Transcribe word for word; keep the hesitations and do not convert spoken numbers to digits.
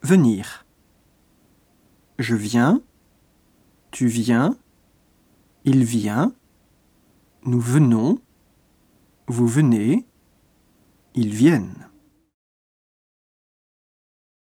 Venir. Je viens, tu viens, il vient, nous venons, vous venez, ils viennent.